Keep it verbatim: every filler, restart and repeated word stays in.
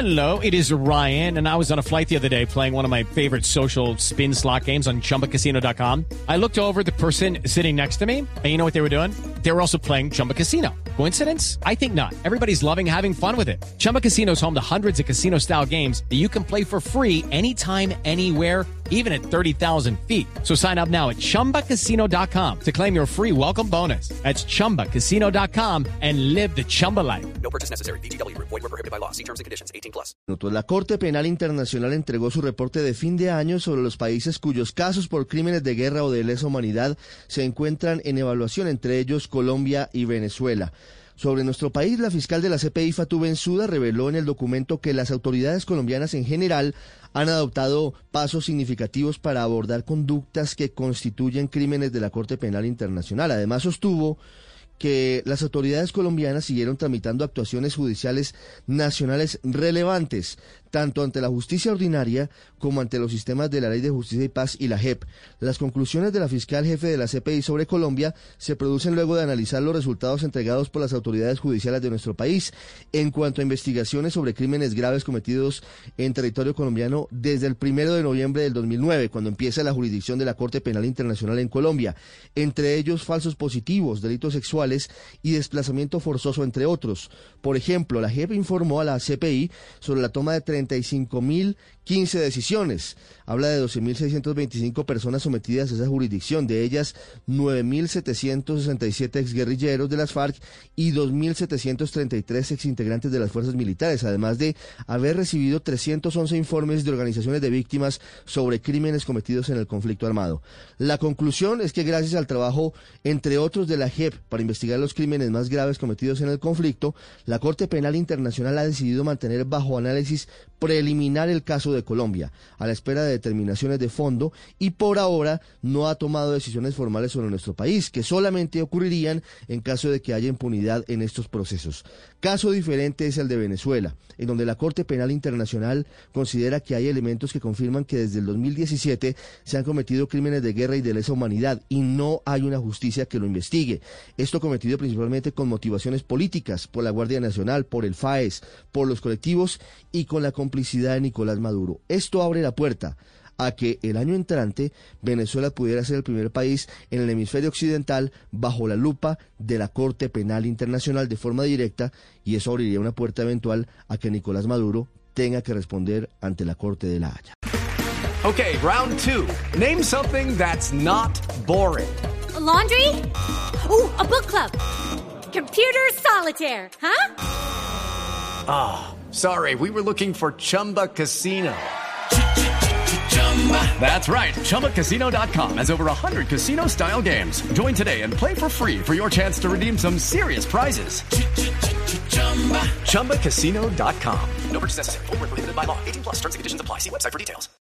Hello, it is Ryan, and I was on a flight the other day playing one of my favorite social spin slot games on Chumba Casino dot com. I looked over at the person sitting next to me, and you know what they were doing? They were also playing Chumba Casino. Coincidence? I think not. Everybody's loving having fun with it. Chumba Casino is home to hundreds of casino-style games that you can play for free anytime, anywhere, even at thirty thousand feet. So sign up now at Chumba Casino dot com to claim your free welcome bonus. That's Chumba Casino dot com and live the Chumba life. No purchase necessary. V G W. Void where prohibited by law. See terms and conditions. eighteen plus. La Corte Penal Internacional entregó su reporte de fin de año sobre los países cuyos casos por crímenes de guerra o de lesa humanidad se encuentran en evaluación, entre ellos Colombia y Venezuela. Sobre nuestro país, la fiscal de la C P I, Fatou Bensouda, reveló en el documento que las autoridades colombianas en general han adoptado pasos significativos para abordar conductas que constituyen crímenes de la Corte Penal Internacional. Además, sostuvo que las autoridades colombianas siguieron tramitando actuaciones judiciales nacionales relevantes, tanto ante la justicia ordinaria como ante los sistemas de la Ley de Justicia y Paz y la J E P. Las conclusiones de la fiscal jefe de la C P I sobre Colombia se producen luego de analizar los resultados entregados por las autoridades judiciales de nuestro país en cuanto a investigaciones sobre crímenes graves cometidos en territorio colombiano desde el primero de noviembre del dos mil nueve, cuando empieza la jurisdicción de la Corte Penal Internacional en Colombia, entre ellos falsos positivos, delitos sexuales y desplazamiento forzoso, entre otros. Por ejemplo, la J E P informó a la C P I sobre la toma de treinta y cinco mil quince decisiones. Habla de doce mil seiscientas veinticinco personas sometidas a esa jurisdicción, de ellas nueve mil setecientos sesenta y siete exguerrilleros de las FARC y dos mil setecientos treinta y tres exintegrantes de las fuerzas militares, además de haber recibido trescientos once informes de organizaciones de víctimas sobre crímenes cometidos en el conflicto armado. La conclusión es que gracias al trabajo, entre otros, de la J E P para investigar los crímenes más graves cometidos en el conflicto, la Corte Penal Internacional ha decidido mantener bajo análisis preliminar el caso de Colombia, a la espera de determinaciones de fondo, y por ahora no ha tomado decisiones formales sobre nuestro país, que solamente ocurrirían en caso de que haya impunidad en estos procesos. Caso diferente es el de Venezuela, en donde la Corte Penal Internacional considera que hay elementos que confirman que desde el dos mil diecisiete se han cometido crímenes de guerra y de lesa humanidad, y no hay una justicia que lo investigue. Esto cometido principalmente con motivaciones políticas, por la Guardia Nacional, por el F A E S, por los colectivos y con la complicidad de Nicolás Maduro. Esto abre la puerta a que el año entrante Venezuela pudiera ser el primer país en el hemisferio occidental bajo la lupa de la Corte Penal Internacional de forma directa, y eso abriría una puerta eventual a que Nicolás Maduro tenga que responder ante la Corte de La Haya. Okay, round two. Name something that's not boring. A laundry? Ooh, a book club. Computer solitaire, huh? Ah, oh, sorry, we were looking for Chumba Casino. That's right, Chumba Casino dot com has over one hundred casino-style games. Join today and play for free for your chance to redeem some serious prizes. Chumba Casino dot com. No purchase necessary. Void where prohibited by law. eighteen plus. Terms and conditions apply. See website for details.